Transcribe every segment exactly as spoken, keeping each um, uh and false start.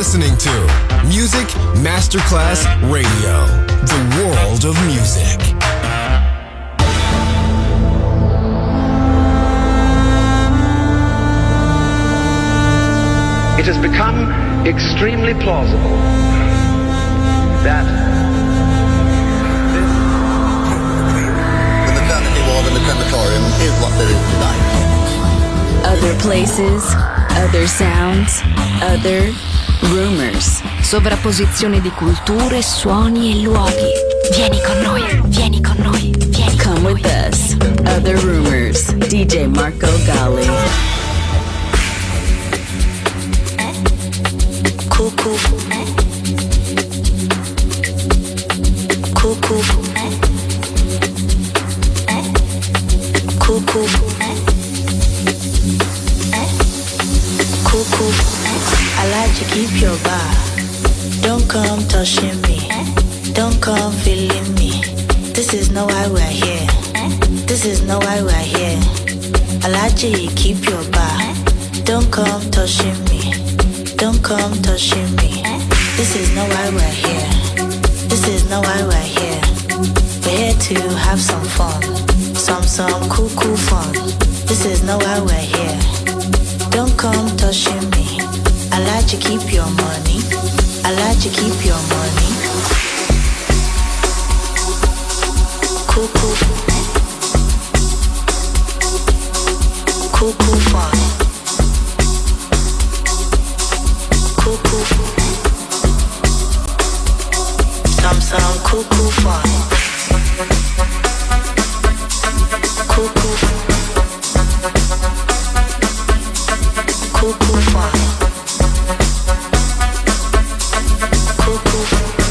listening to Music Masterclass Radio, the world of music. It has become extremely plausible that the maternity ward and the crematorium is what there is tonight. Other places, other sounds, other rumors. Sovrapposizione di culture, suoni e luoghi. Vieni con noi, vieni con noi, vieni Come con with noi. us. Other rumors. D J Marco Gally. Cuckoo. Cuckoo. Cuckoo. Cuckoo. I like to keep your bar. Don't come touching me. Don't come feeling me. This is not why we're here. This is not why we're here. I like to keep your bar. Don't come touching me. Don't come touching me. This is not why we're here. This is not why we're here. We're here to have some fun. Some, some cool, cool fun. This is not why we're here. Don't come touching me. I like to keep your money. I like to keep your money. Cool, cool. Cool, cool fun. Cuckoo, some some cuckoo fun. Cuckoo, cuckoo fun. Cuckoo,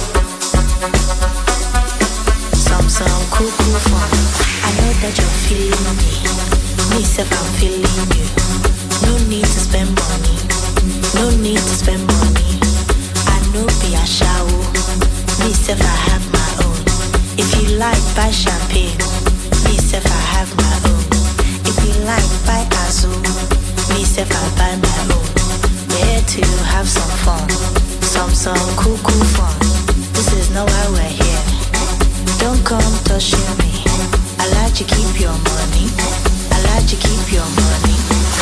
some some cuckoo fun. I know that you're feeling me. Me self, I'm feeling you. No need to spend money. No need to spend money. I know be a shower. Me self I have my own. If you like buy champagne. Me self I have my own. If you like buy azul. Me self I buy my own. We're here to have some fun. Some some cool cool fun. This is not why we're here. Don't come touching me. I like to keep your money. I like to keep your money.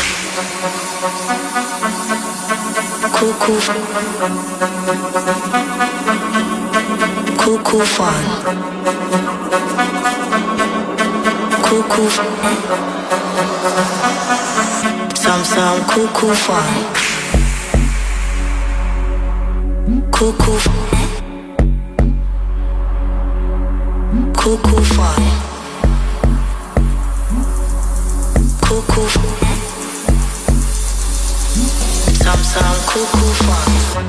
Cuckoo, cuckoo fun. Cuckoo, some some cuckoo fun. Cuckoo, cuckoo fun. Cuckoo. Some some cuckoo fun.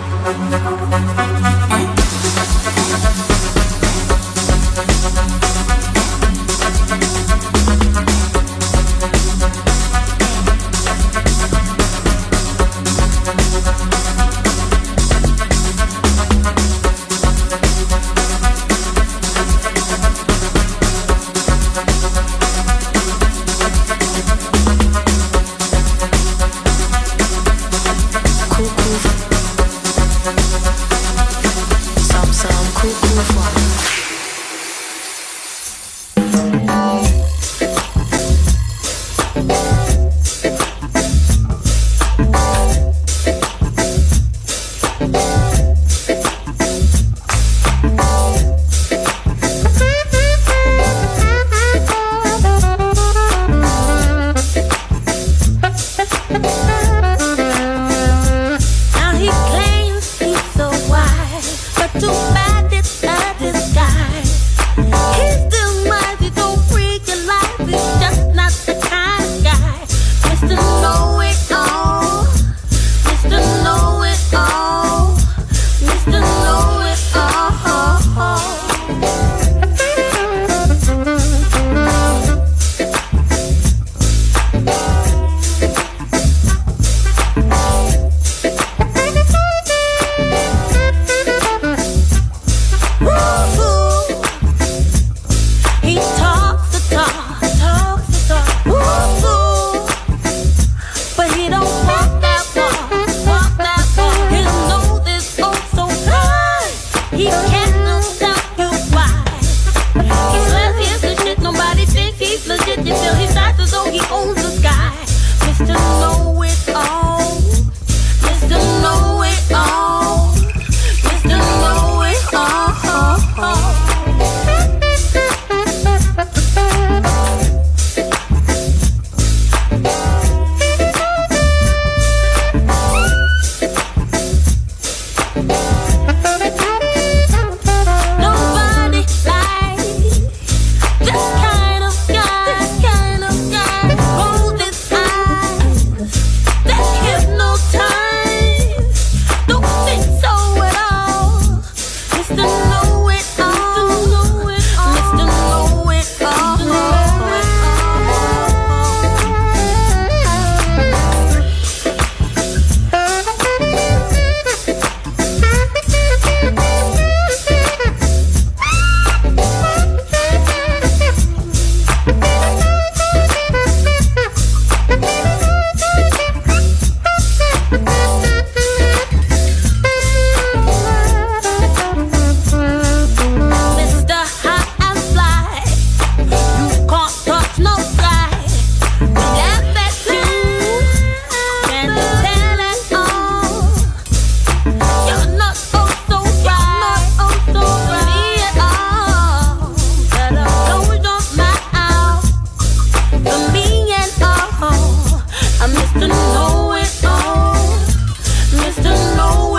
Now he claims he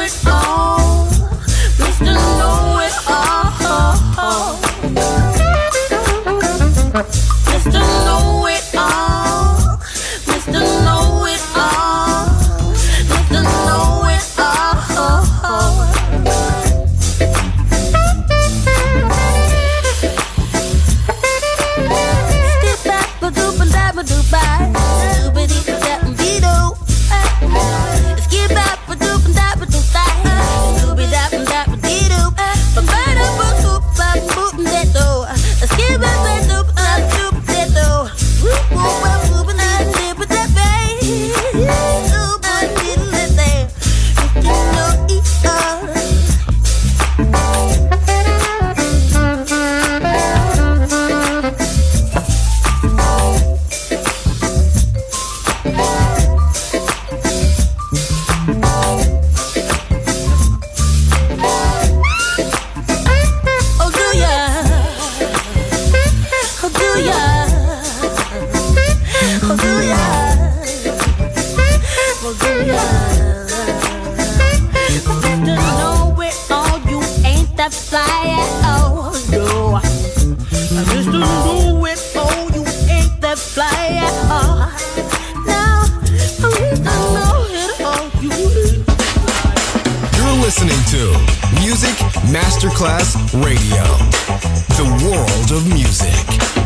listening to Music Masterclass Radio, the world of music.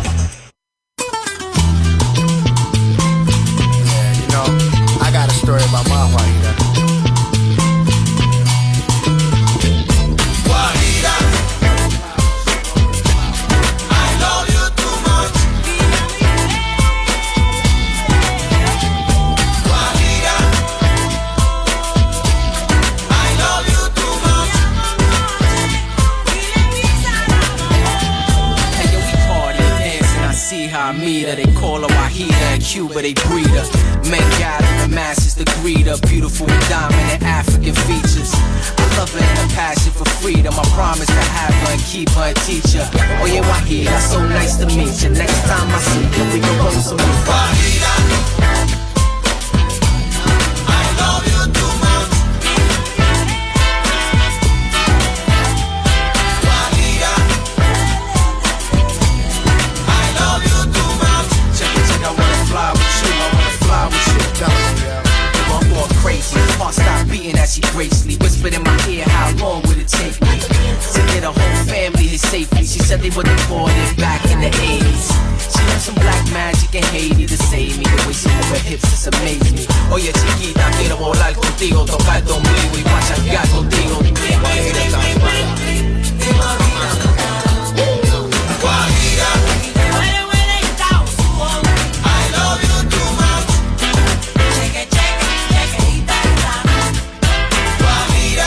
Yeah, you know, I got a story about my Guajira. Guajira, I love you too much. Guajira, I love you too much. Hey yo, we party and dance and I see how I meet her. They call her Wahida, in Cuba they breed her. Men gather the masses to greet her. Beautiful with dominant African features. I love her and a passion for freedom. I promise to have her and keep her and teach her. Oh yeah, Wahida, so nice to meet you. Next time I see you, we can roll some more. Guajira, I love you too much. Guajira, I love you too much. Check it, check, I wanna fly with you, I wanna fly with you. I'm going crazy, heart stop beating as she gracefully whispered in my ear, how long would it take me to get a whole family here safely? She said they were deported back in the eighties. She learned some black magic in Haiti to save me. The way she move her hips just amazed me. Oye chiquita, quiero volar contigo, tocar tu ombligo y machacar contigo. Guajira, I love you too much. Guajira,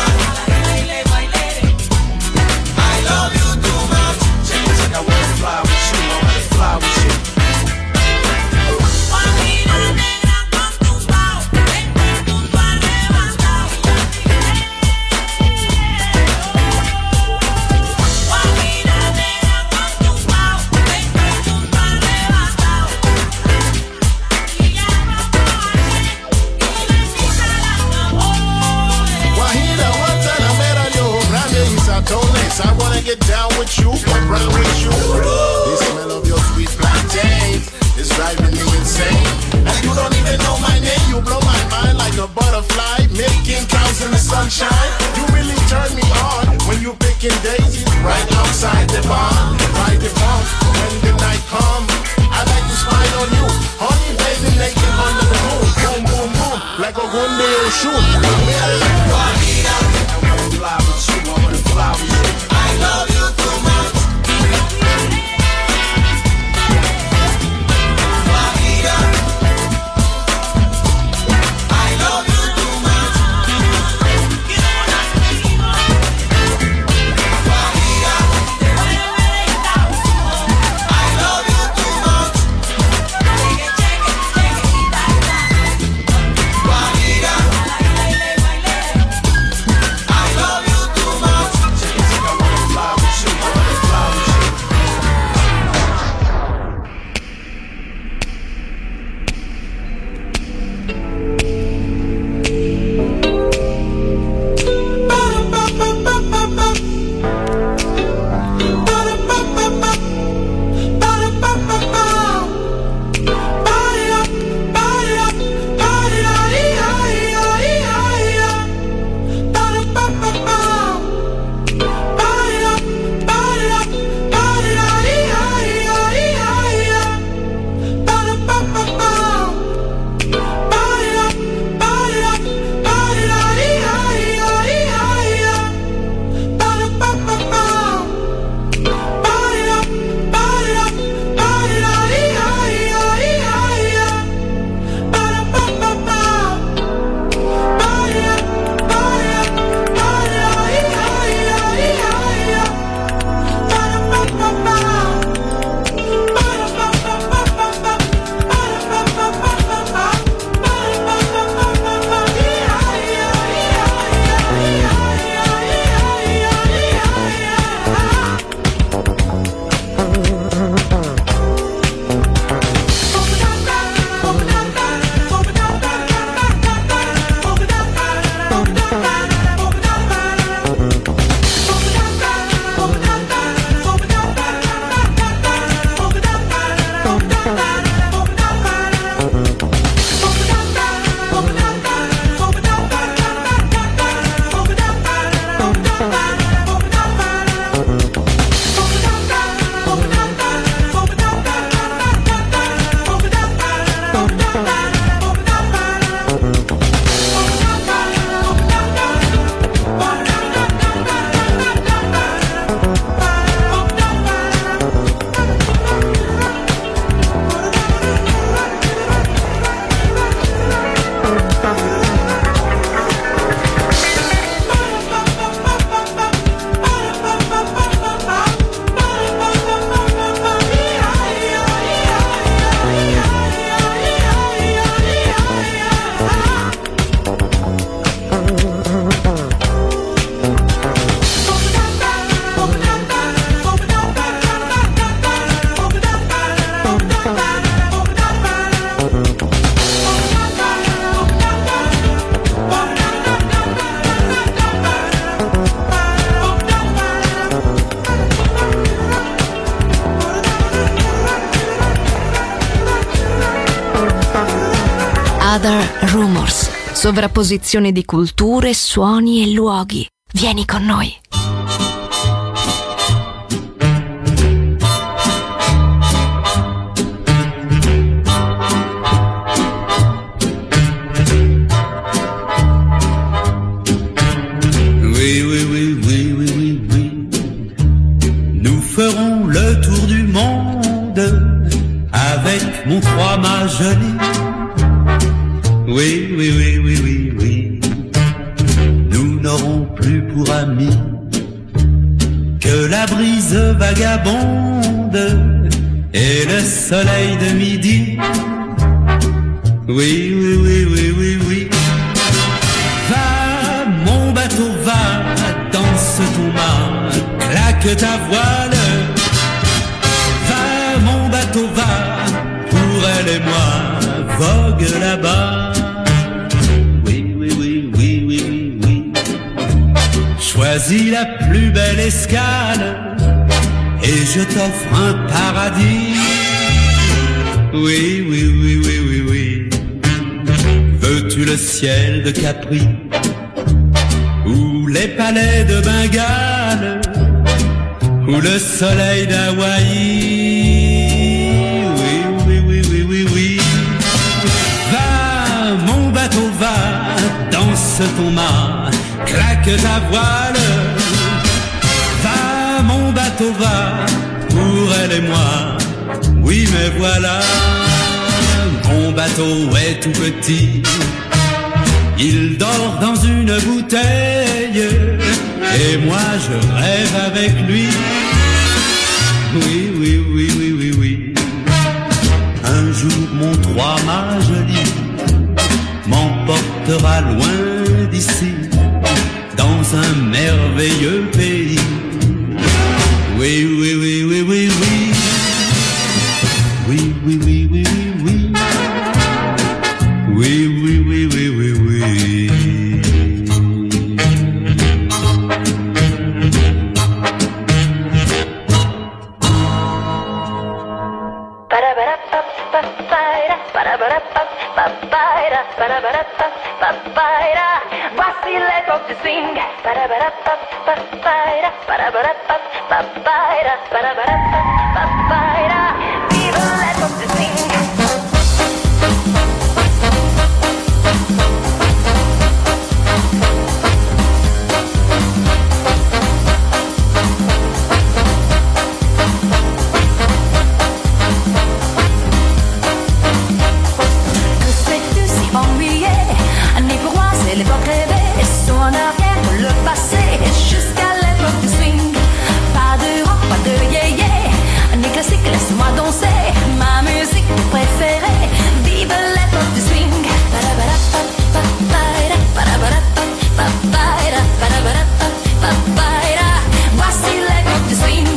I love you too much. Check it, check, I wanna fly with you, I wanna fly with you. Guajira, one time I met a yo grande y satones. I wanna get down with you, get round with you. The smell of your sweet plantains is driving me insane. And you don't even know my name, you blow my mind like a butterfly, making counts in the sunshine. You really turn me on when you picking daisies right outside the barn. Right the barn when the night comes. I like to spy on you, honey baby naked under the moon. Boom, boom, boom, like a gunde or shoot. Guajira, I wanna fly with you, I wanna fly with you. I love you too much. Guajira, I love you too much. Guajira, I love you too much. Guajira, sovrapposizione di culture, suoni e luoghi. Vieni con noi. Oui, oui, oui, oui, oui, oui, oui. Nous ferons le tour du monde avec mon trois-mâts joli. Oui, oui, oui, oui, oui, oui. Nous n'aurons plus pour amis que la brise vagabonde et le soleil de midi. Oui, oui, oui, oui, oui, oui. Va, mon bateau, va, danse ton mât, claque ta voile. Va, mon bateau, va, pour elle et moi, vogue là-bas. Oui, oui, oui, oui, oui, oui, oui. Choisis la plus belle escale et je t'offre un paradis. Oui, oui, oui, oui, oui, oui. Veux-tu le ciel de Capri ou les palais de Bengale ou le soleil d'Hawaï? Oui, oui, oui, oui, oui, oui. Va, mon bateau, va, danse ton mât, claque ta voile. Va, mon bateau, va, pour elle et moi. Oui, mais voilà, mon bateau est tout petit. Il dort dans une bouteille et moi je rêve avec lui. Oui, oui, oui, oui, oui, oui. Un jour mon trois-mâts joli m'emportera loin d'ici, dans un merveilleux pays. Oui, oui, oui, oui, oui, oui. Oui, oui, oui, oui, oui, oui. Oui, oui, oui, oui, oui, oui. Voici l'époque du swing. Vive l'époque du swing. Que fais-tu si ennuyé? Né pour moi c'est l'époque rêvée, son arrière le passé, jusqu'à l'époque du swing. Pas de rock, pas de yé-yé, né classique, laisse-moi danser, ma musique préférée. Vive l'époque du swing. Voici l'époque du swing.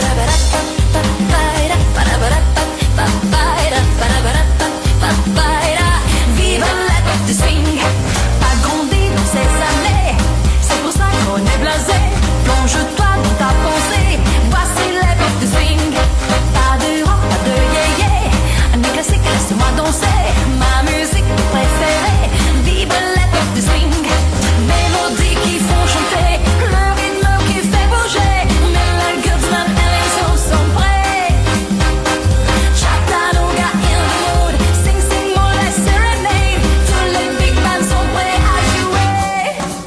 Vive l'époque du swing. Pas grandi dans ces années, c'est pour ça qu'on est blasé. Plonge-toi dans ta pensée. Voici l'époque du swing. Pas de rock, pas de yé-yé, un classique, laisse-moi danser, ma musique préférée. Vive l'époque du swing. Mélodies qui font chanter, le rythme qui fait bouger. Melodies and so sont prêts. Chattanooga in the mood, sing sing more like serenade. Tous les big bands sont prêts à jouer.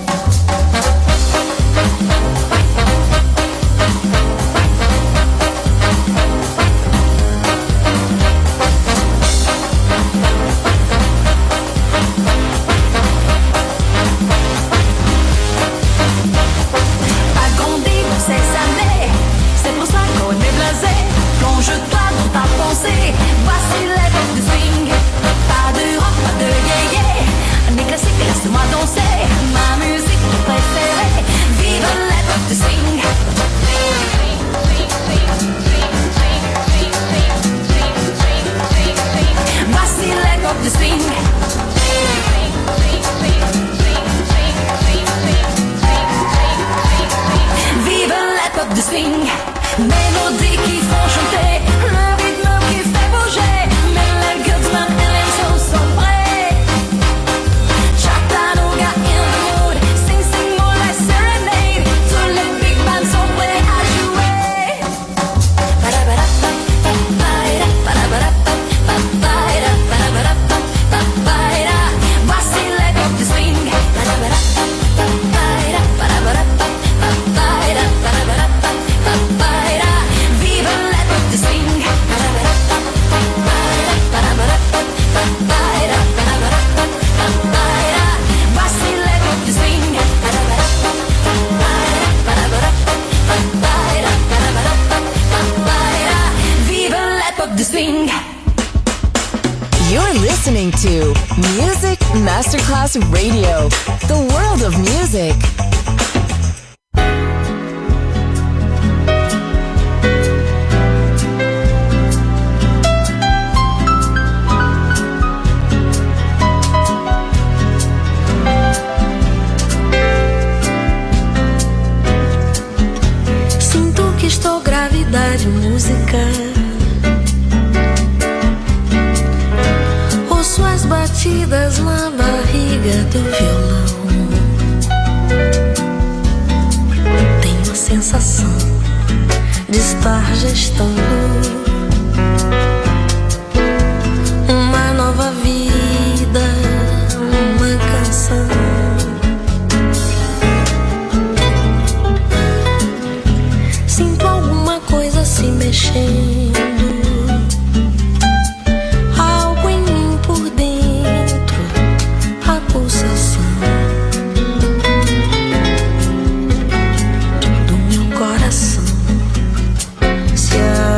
Pas grandi dans ces années, c'est pour ça qu'on est blasé. Plonge-toi dans ta pensée. Voici l'époque du swing. Pas de rock, pas de yé-yé, un classique, laisse-moi danser, ma musique préférée. Vive l'époque du swing. Voici l'époque du swing. Vive l'époque du swing. Mélodies qui font chanter, le rythme qui fait bouger. Melodies and so sont prêts. Chattanooga Masterclass Radio, the world of music. Sinto que estou grávida de música. Ouço as batidas na barriga do violão. Tenho a sensação de estar gestando uma nova vida, uma canção. Sinto alguma coisa se mexendo, algo em mim por dentro, a pulsação do meu coração se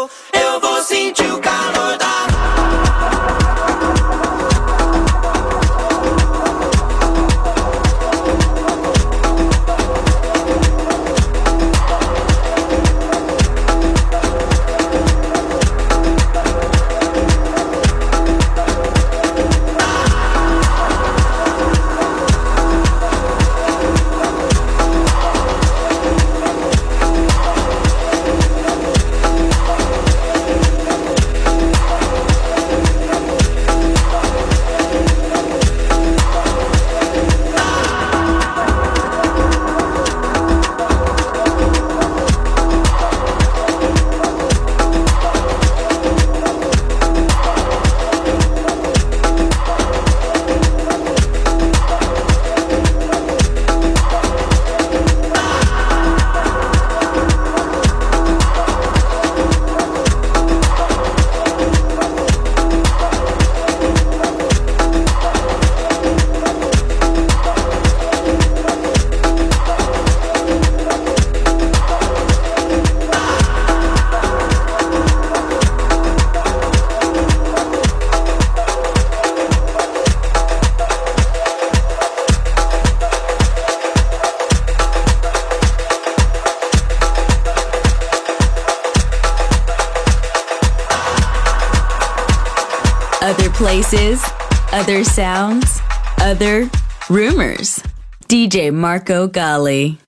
for, eu vou sentir o calor da. Other places, other sounds, other rumors. D J Marco Gally.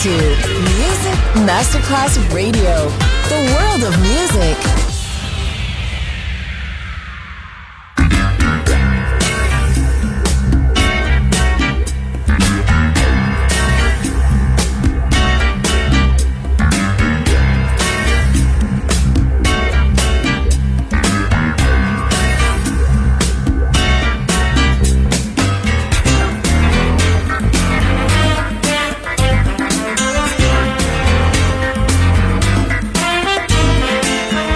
to Music Masterclass Radio, the world of music. Thank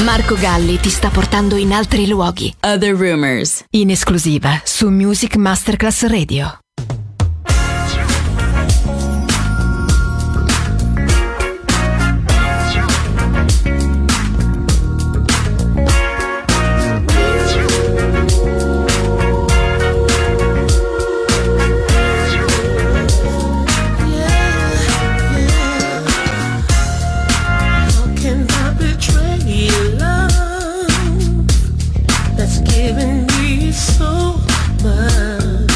Marco Galli ti sta portando in altri luoghi. Other Rumors. In esclusiva su Music Masterclass Radio. Giving me so much.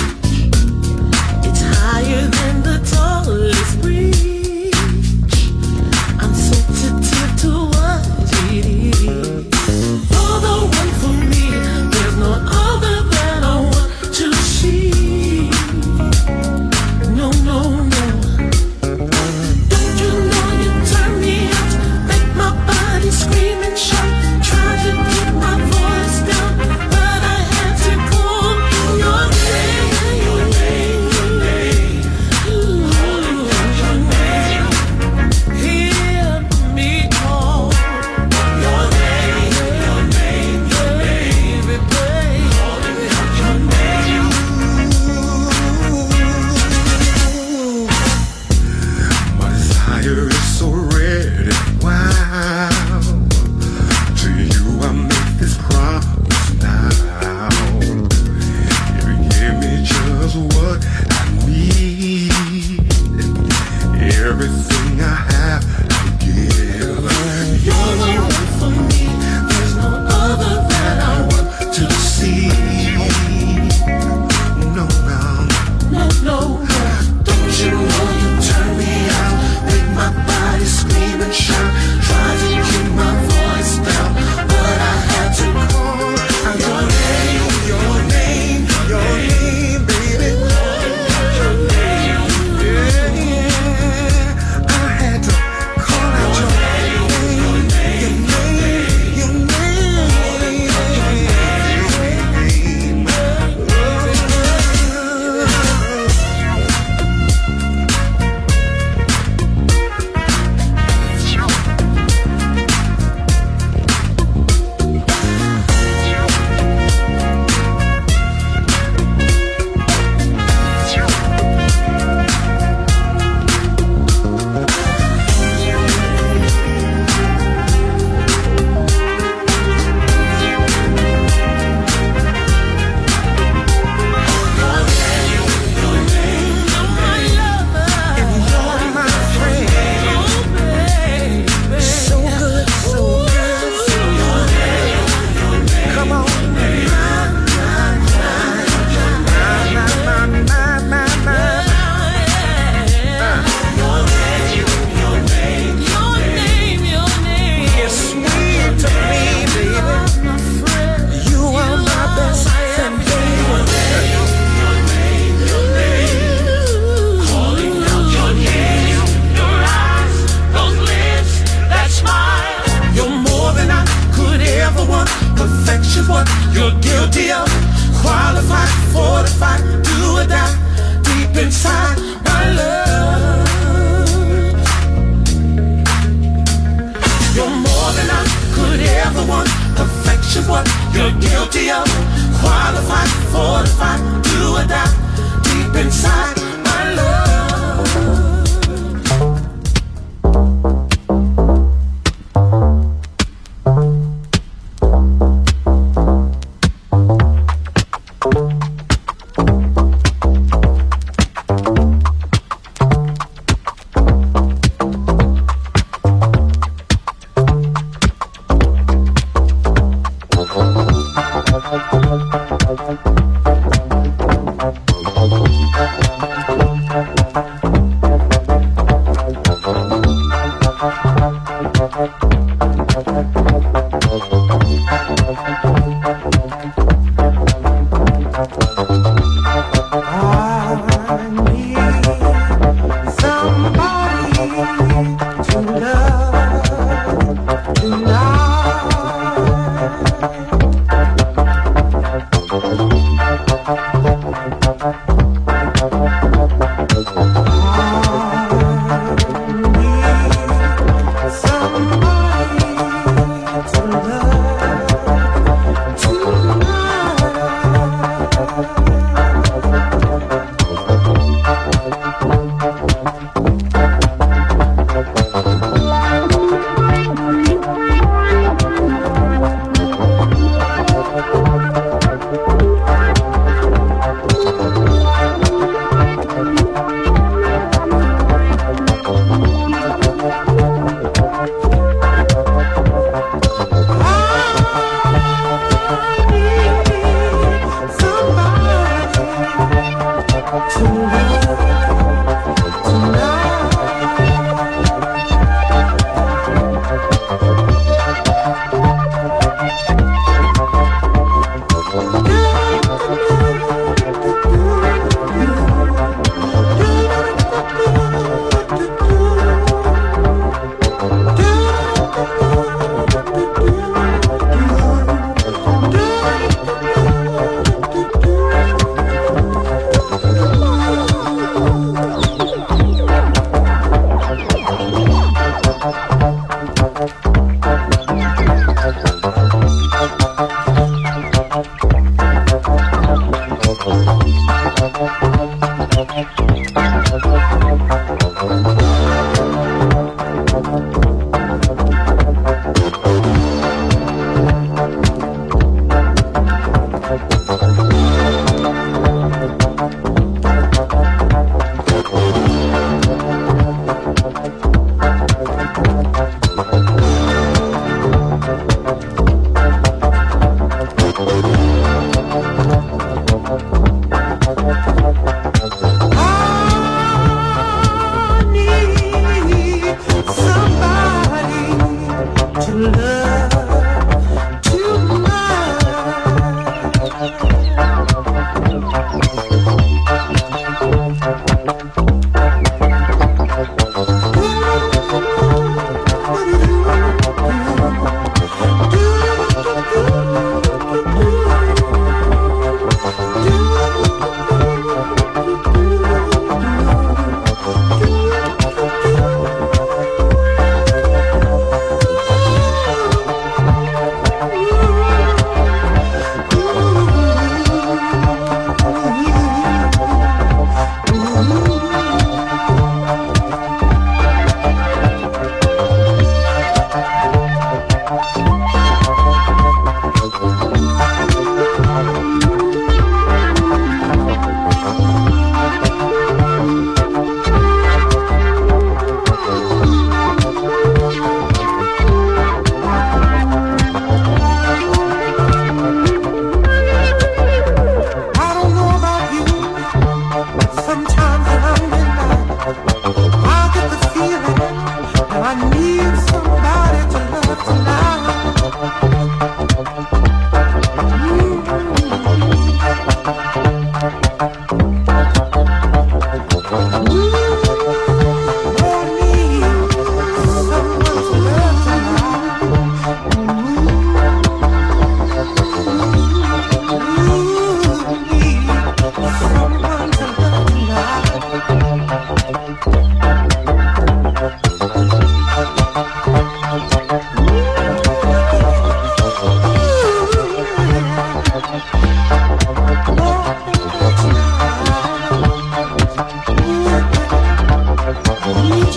Thank you.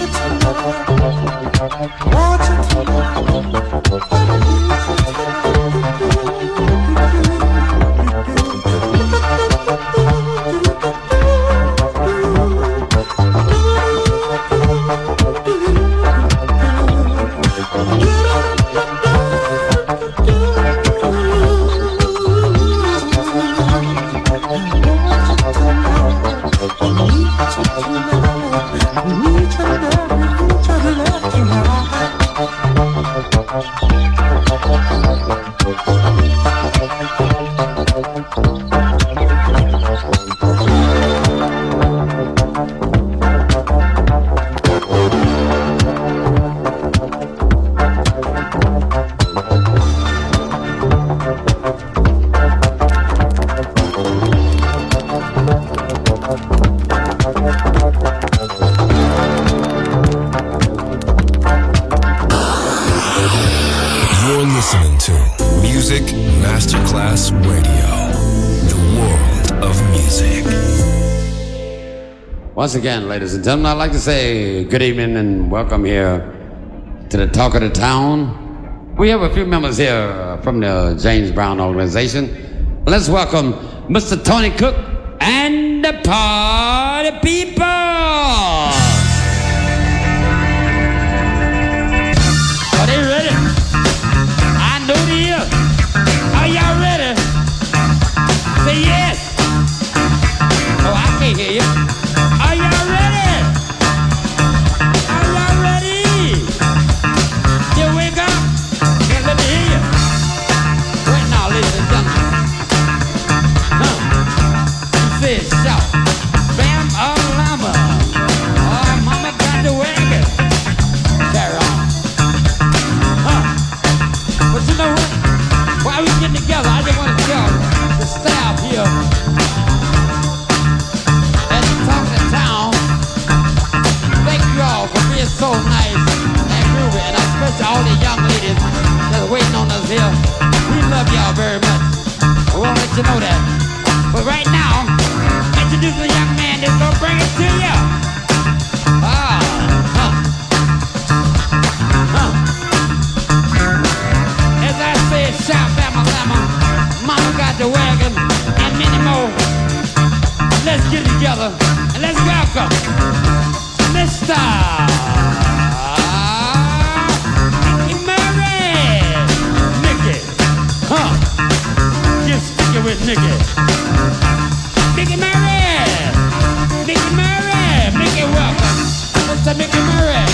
Once again, ladies and gentlemen, I'd like to say good evening and welcome here to the Talk of the Town. We have a few members here from the James Brown organization. Let's welcome Mister Tony Cook and the Party People. Are they ready? I know they are. Are y'all ready? Say yes. Oh, I can't hear you. Are y'all ready? Are y'all ready? You wake up and let me hear you. Right now, ladies and gentlemen. Huh? You say shout. Bam, oh, llama. Oh, mama got the wagon. Carry on. Huh? But you know what? While we getting together, I just want to tell the staff here for being so nice and groovy, and especially all the young ladies that's waiting on us here. We love y'all very much. We want to let you know that. But right now, introduce a young man that's gonna bring it to you. Ah, huh. Huh. As I said, shout, bama, llama, mama got the wagon, and many more. Let's get together and let's welcome Mister Mickey Murray. Mickey. Huh. Get sticky with Mickey. Mickey Murray. Mickey Murray. Mickey, welcome. Mister Mickey Murray.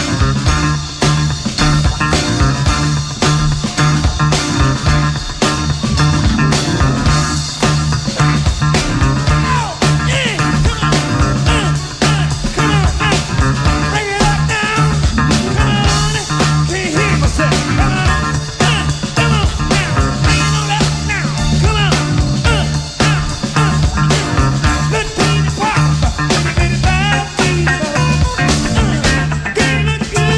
Good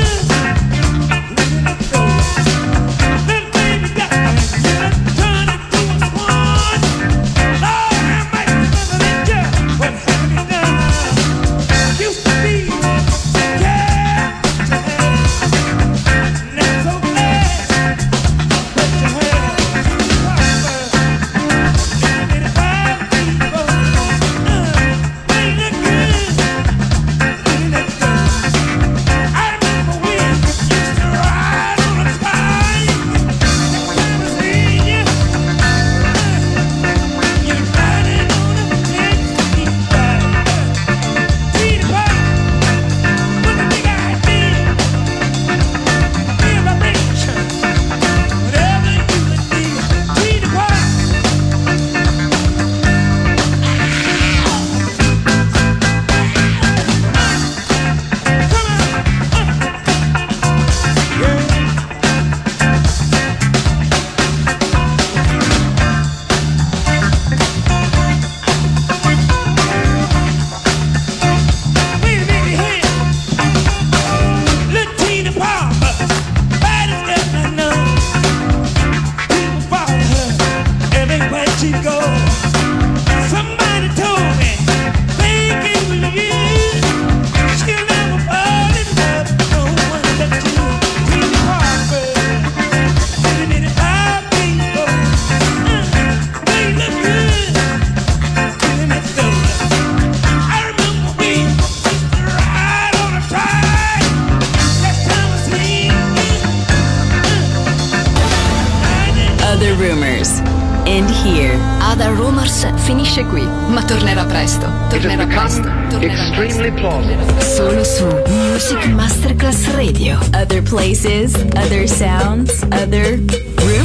Rumors. And here. Other Rumors finisce qui, ma tornerà presto. Tornerà presto. Tornerà extremely plausible. Solo su Music Masterclass Radio. Other places, other sounds, other rumors.